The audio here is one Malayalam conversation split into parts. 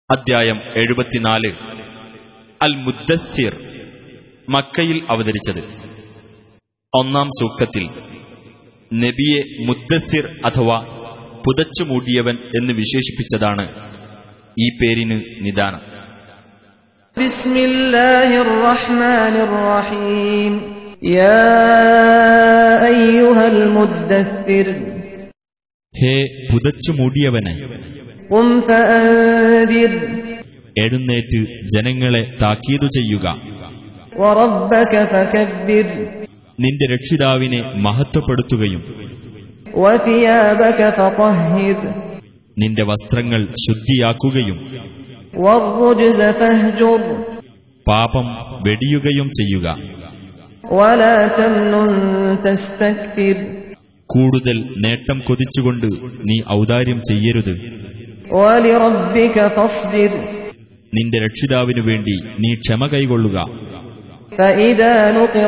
അദ്ധ്യായം 74 അൽ മുദ്ദസ്സിർ. മക്കയിൽ അവതരിച്ചത്. ഒന്നാം സൂക്തത്തിൽ നബിയെ മുദ്ദസ്സിർ അഥവാ പുതച്ചുമൂടിയവൻ എന്ന് വിശേഷിപ്പിച്ചതാണ് ഈ പേരിന് നിദാനം. ബിസ്മില്ലാഹിർ റഹ്മാനിർ റഹീം. യാ അയ്യുഹൽ മുദ്ദസ്സിർ, ഹേ പുതച്ചുമൂടിയവനെ, ഖും ഫഅൻദിർ, എഴുന്നേറ്റ് ജനങ്ങളെ താക്കീതു ചെയ്യുക. വറബ്ബക ഫകബ്ബിർ, നിന്റെ രക്ഷിതാവിനെ മഹത്വപ്പെടുത്തുകയും വസിയാബക ഫതഹ്ഹിർ, നിന്റെ വസ്ത്രങ്ങൾ ശുദ്ധിയാക്കുകയും വറുജ്സ ഫഹ്ജുർ, പാപം വെടിയുകയും ചെയ്യുക. വലാ തംനുൻ തസ്തക്ബിർ, കൂടുതൽ നേട്ടം കൊതിച്ചുകൊണ്ട് നീ ഔദാര്യം ചെയ്യരുത്. വലിറബ്ബിക ഫസ്ബിർ, നിന്റെ രക്ഷിതാവിനു വേണ്ടി നീ ക്ഷമ കൈകൊള്ളുക. ഫഇദാ നുഖിറ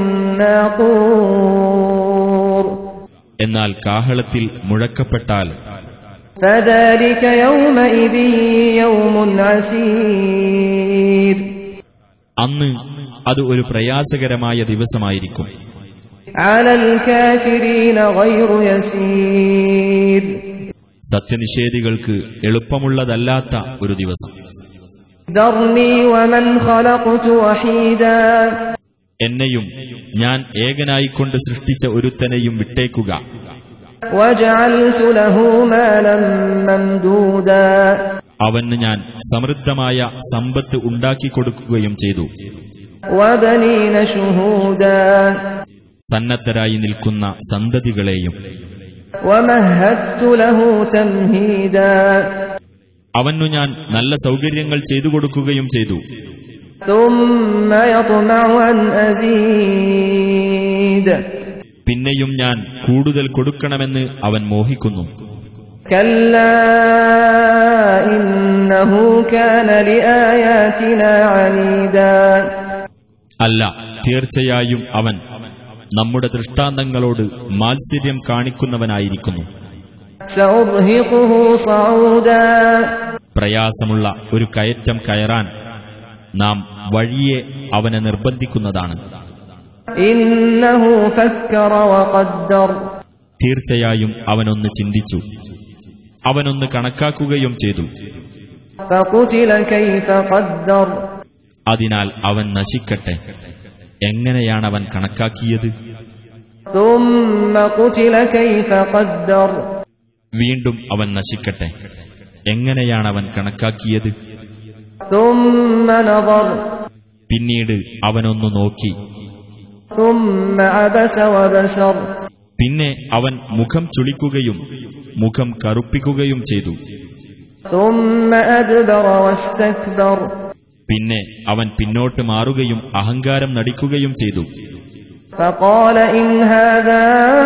ഫിന്നാഖൂർ, എന്നാൽ കാഹളത്തിൽ മുഴക്കപ്പെട്ടാൽ ഫദാലിക യൗമഇദിൻ യൗമുൻ അസീർ, അന്ന് അത് ഒരു പ്രയാസകരമായ ദിവസമായിരിക്കും. അലൽ കാഫിരീന ഗൈറു യസീർ, സത്യനിഷേധികൾക്ക് എളുപ്പമുള്ളതല്ലാത്ത ഒരു ദിവസം. ദർനി വമൻ ഖലഖതു വഹീദാ, എന്നെയും ഞാൻ ഏകനായിക്കൊണ്ട് സൃഷ്ടിച്ച ഒരുത്തനെയും വിട്ടേക്കുക. വജഅൽതു ലഹു മാലൻ മംദൂദാ, അവന് ഞാൻ സമൃദ്ധമായ സമ്പത്ത് ഉണ്ടാക്കിക്കൊടുക്കുകയും ചെയ്തു. വബനീന ശുഹൂദാ, സന്നദ്ധരായി നിൽക്കുന്ന സന്തതികളെയും. വമഹദ്തു ലഹു തംഹീദാ, അവനു ഞാൻ നല്ല സൗകര്യങ്ങൾ ചെയ്തു കൊടുക്കുകയും ചെയ്തു. ثم يطمع أن أزيد, പിന്നെയും ഞാൻ കൂടുതൽ കൊടുക്കണമെന്ന് അവൻ മോഹിക്കുന്നു. كلا إنه كان لآياتنا عنيدا, അല്ല, തീർച്ചയായും അവൻ നമ്മുടെ ദൃഷ്ടാന്തങ്ങളോട് മാത്സര്യം കാണിക്കുന്നവനായിരിക്കുന്നു. سأرهقه صعودا, പ്രയാസമുള്ള ഒരു കയറ്റം കയറാൻ നാം വഴിയെ അവനെ നിർബന്ധിക്കുന്നതാണ്. إنه فكر وقدر, തീർച്ചയായും അവനൊന്ന് ചിന്തിച്ചു, അവനൊന്ന് കണക്കാക്കുകയും ചെയ്തു. فقتل كيف قدر, അതിനാൽ അവൻ നശിക്കട്ടെ, എങ്ങനെയാണവൻ കണക്കാക്കിയത്? ثم قتل كيف قدر, വീണ്ടും അവൻ നശിക്കട്ടെ, എങ്ങനെയാണവൻ കണക്കാക്കിയത്? ثم نظر, പിന്നീട് അവനൊന്നു നോക്കി. ثم عبس وبسر, പിന്നെ അവൻ മുഖം ചുളിക്കുകയും മുഖം കറുപ്പിക്കുകയും ചെയ്തു. ثم أدبر واستكبر, പിന്നെ അവൻ പിന്നോട്ട് മാറുകയും അഹങ്കാരം നടിക്കുകയും ചെയ്തു. فقال إن هذا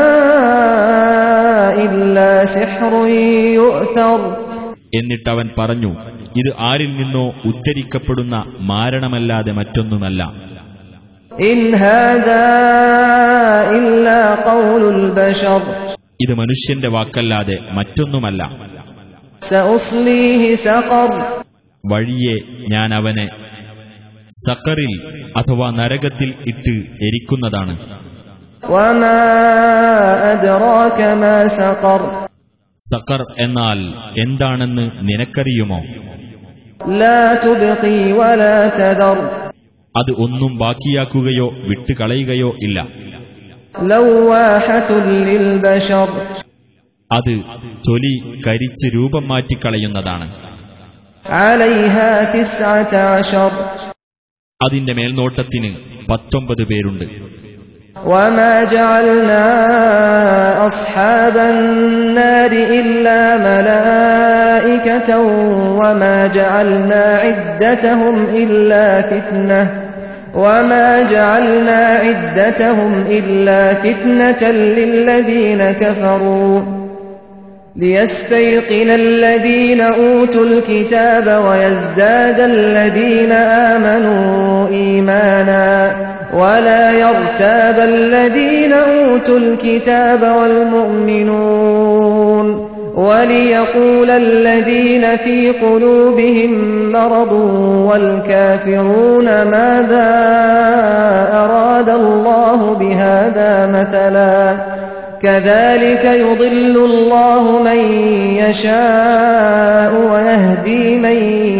إلا سحر يؤثر, എന്നിട്ടവൻ പറഞ്ഞു, ഇത് ആരിൽ നിന്നോ ഉദ്ധരിക്കപ്പെടുന്ന മാരണമല്ലാതെ മറ്റൊന്നുമല്ല. إن هذا إلا قول البشر, ഇത് മനുഷ്യന്റെ വാക്കല്ലാതെ മറ്റൊന്നുമല്ല. سأصليه سقر, വഴിയെ ഞാൻ അവനെ സഖറിൽ അഥവാ നരകത്തിൽ ഇട്ട് എരിക്കുന്നതാണ്. وما أدراك ما سقر, സഖർ എന്നാൽ എന്താണെന്ന് നിനക്കറിയുമോ? لا تبقي ولا تذر, അത് ഒന്നും ബാക്കിയാക്കുകയോ വിട്ടുകളയുകയോ ഇല്ല. لواحة للبشر, അത് തൊലി കരിച്ച് രൂപം മാറ്റിക്കളയുന്നതാണ്. عليها 19, അതിന്റെ മേൽനോട്ടത്തിന് 19 പേരുണ്ട്. وما جعلنا أصحاب النار إلا ملائكة وما جعلنا عدتهم إلا فتنة للذين كفروا ليستيقن الذين أوتوا الكتاب ويزداد الذين آمنوا إيمانا ولا يرتاب الذين أوتوا الكتاب والمؤمنون وَلِيَقُولَ الَّذِينَ فِي قُلُوبِهِم مَّرَضٌ وَالْكَافِرُونَ مَاذَا أَرَادَ اللَّهُ بِهَذَا مَثَلًا كَذَلِكَ يُضِلُّ اللَّهُ مَن يَشَاءُ وَيَهْدِي مَن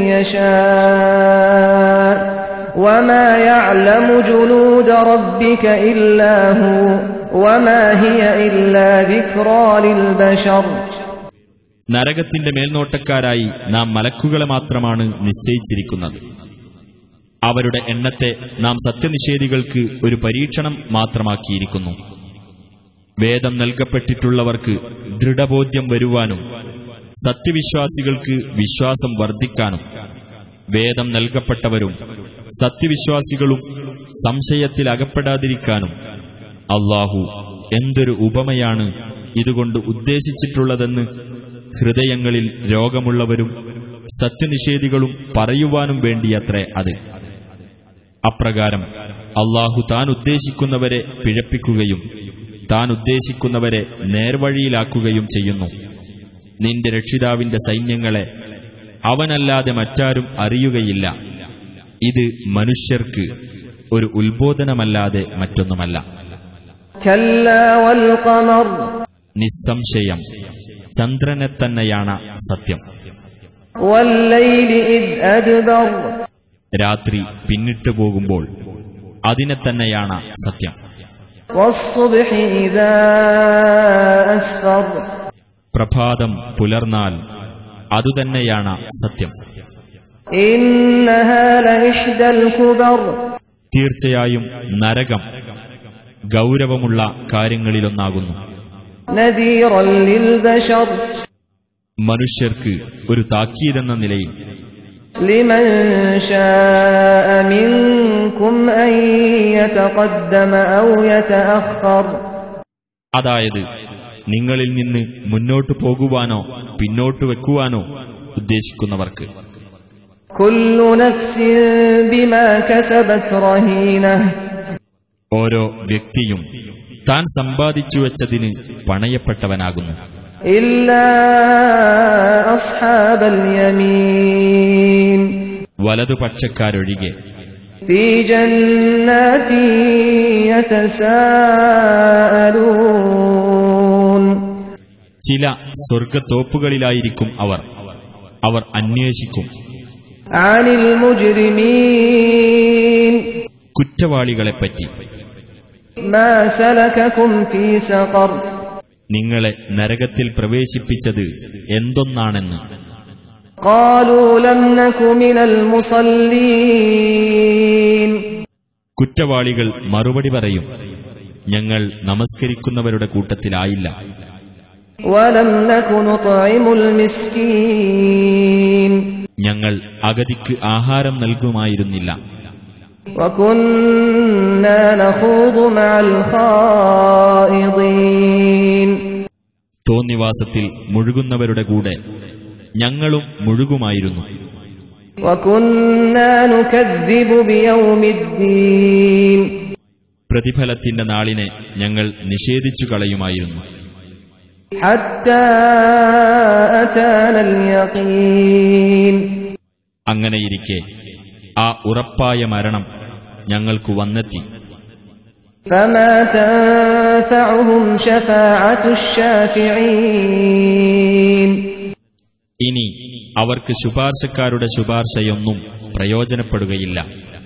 يَشَاءُ وَمَا يَعْلَمُ جُنُودَ رَبِّكَ إِلَّا هُوَ وَمَا هِيَ إِلَّا ذِكْرَى لِلْبَشَرِ. നരകത്തിന്റെ മേൽനോട്ടക്കാരായി നാം മലക്കുകളെ മാത്രമാണ് നിശ്ചയിച്ചിരിക്കുന്നത്. അവരുടെ എണ്ണത്തെ നാം സത്യനിഷേധികൾക്ക് ഒരു പരീക്ഷണം മാത്രമാക്കിയിരിക്കുന്നു. വേദം നൽകപ്പെട്ടിട്ടുള്ളവർക്ക് ദൃഢബോധ്യം വരുവാനും സത്യവിശ്വാസികൾക്ക് വിശ്വാസം വർദ്ധിക്കാനും വേദം നൽകപ്പെട്ടവരും സത്യവിശ്വാസികളും സംശയത്തിൽ അകപ്പെടാതിരിക്കാനും അല്ലാഹു എന്തൊരു ഉപമയാണ് ഇതുകൊണ്ട് ഉദ്ദേശിച്ചിട്ടുള്ളതെന്ന് ഹൃദയങ്ങളിൽ രോഗമുള്ളവരും സത്യനിഷേധികളും പറയുവാനും വേണ്ടിയത്രേ അത്. അപ്രകാരം അല്ലാഹു താൻ ഉദ്ദേശിക്കുന്നവരെ പിഴപ്പിക്കുകയും താൻ ഉദ്ദേശിക്കുന്നവരെ നേർവഴിയിലാക്കുകയും ചെയ്യുന്നു. നിന്റെ രക്ഷിതാവിന്റെ സൈന്യങ്ങളെ അവനല്ലാതെ മറ്റാരും അറിയുകയില്ല. ഇത് മനുഷ്യർക്ക് ഒരു ഉത്ബോധനമല്ലാതെ മറ്റൊന്നുമല്ല. നിസ്സംശയം ചന്ദ്രനെ തന്നെയാണ് സത്യം. രാത്രി പിന്നിട്ടു പോകുമ്പോൾ അതിനെ തന്നെയാണ് സത്യം. പ്രഭാതം പുലർന്നാൽ അതുതന്നെയാണ് സത്യം. തീർച്ചയായും നരകം ഗൗരവമുള്ള കാര്യങ്ങളിലൊന്നാകുന്നു. മനുഷ്യർക്ക് ഒരു താക്കീതെന്ന നിലയിൽ അതായത് നിങ്ങളിൽ നിന്ന് മുന്നോട്ടു പോകുവാനോ പിന്നോട്ടു വെക്കുവാനോ ഉദ്ദേശിക്കുന്നവർക്ക്. ഓരോ വ്യക്തിയും താൻ സമ്പാദിച്ചു വെച്ചതിന് പണയപ്പെട്ടവനാകുന്നു. വലതുപക്ഷക്കാരൊഴികെ. ചില സ്വർഗത്തോപ്പുകളിലായിരിക്കും അവർ അന്വേഷിക്കും കുറ്റവാളികളെപ്പറ്റി. നിങ്ങളെ നരകത്തിൽ പ്രവേശിപ്പിച്ചത് എന്തൊന്നാണെന്ന്. കുറ്റവാളികൾ മറുപടി പറയും, ഞങ്ങൾ നമസ്കരിക്കുന്നവരുടെ കൂട്ടത്തിലായില്ല. ഞങ്ങൾ അഗതിക്ക് ആഹാരം നൽകുമായിരുന്നില്ല. തോന്നിവാസത്തിൽ മുഴുകുന്നവരുടെ കൂടെ ഞങ്ങളും മുഴുകുമായിരുന്നു. പ്രതിഫലത്തിന്റെ നാളിനെ ഞങ്ങൾ നിഷേധിച്ചു കളയുമായിരുന്നു. അങ്ങനെയിരിക്കെ ആ ഉറപ്പായ മരണം ഞങ്ങൾക്കു വന്നെത്തി. ഇനി അവർക്ക് ശുപാർശക്കാരുടെ ശുപാർശയൊന്നും പ്രയോജനപ്പെടുകയില്ല.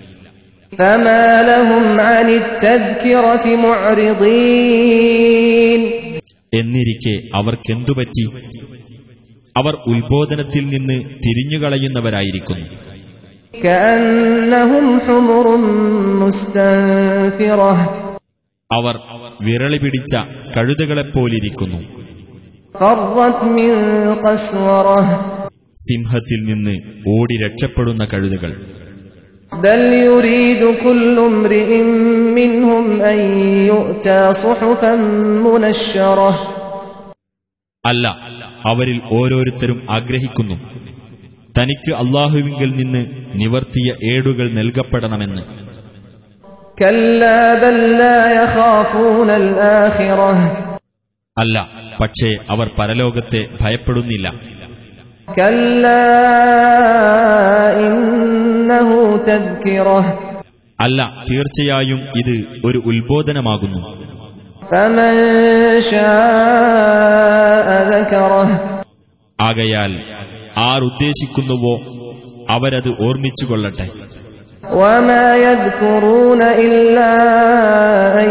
എന്നിരിക്കെ അവർക്കെന്തുപറ്റി? അവർ ഉത്ബോധനത്തിൽ നിന്ന് തിരിഞ്ഞുകളയുന്നവരായിരിക്കുന്നു. അവർ വിരളി പിടിച്ച കഴുതകളെപ്പോലിരിക്കുന്നു. സിംഹത്തിൽ നിന്ന് ഓടി രക്ഷപ്പെടുന്ന കഴുതകൾ. അല്ല, അവരിൽ ഓരോരുത്തരും ആഗ്രഹിക്കുന്നു തനിക്ക് അല്ലാഹുവിങ്കൽ നിന്ന് നിവർത്തിയ ഏടുകൾ നൽകപ്പെടണമെന്ന്. അല്ല, പക്ഷേ അവർ പരലോകത്തെ ഭയപ്പെടുന്നില്ല. കല്ലാ ഇന്നഹു തദ്കിറഹ്. അല്ല, തീർച്ചയായും ഇത് ഒരു ഉത്ബോധനമാകുന്നു. ഫമൻ ശാഅ ദകറഹ്. ആകയാൽ ആരുദ്ദേശിക്കുന്നുവോ അവരത് ഓർമ്മിച്ചുകൊള്ളട്ടെ. വമാ യദ്കുറൂന ഇല്ലാ അൻ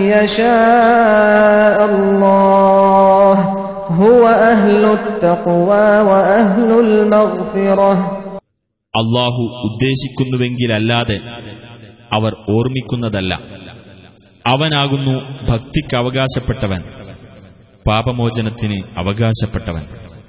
യശാഅ അല്ലാഹ് ഹുവ അഹ്ലുത് തഖ്വാ വ അഹ്ലുൽ മഗ്ഫിറഹ്. അല്ലാഹു ഉദ്ദേശിക്കുന്നുവെങ്കിലല്ലാതെ അവർ ഓർമ്മിക്കുന്നതല്ല. അവനാകുന്നു ഭക്തിക്ക് അവകാശപ്പെട്ടവൻ, പാപമോചനത്തിന് അവകാശപ്പെട്ടവൻ.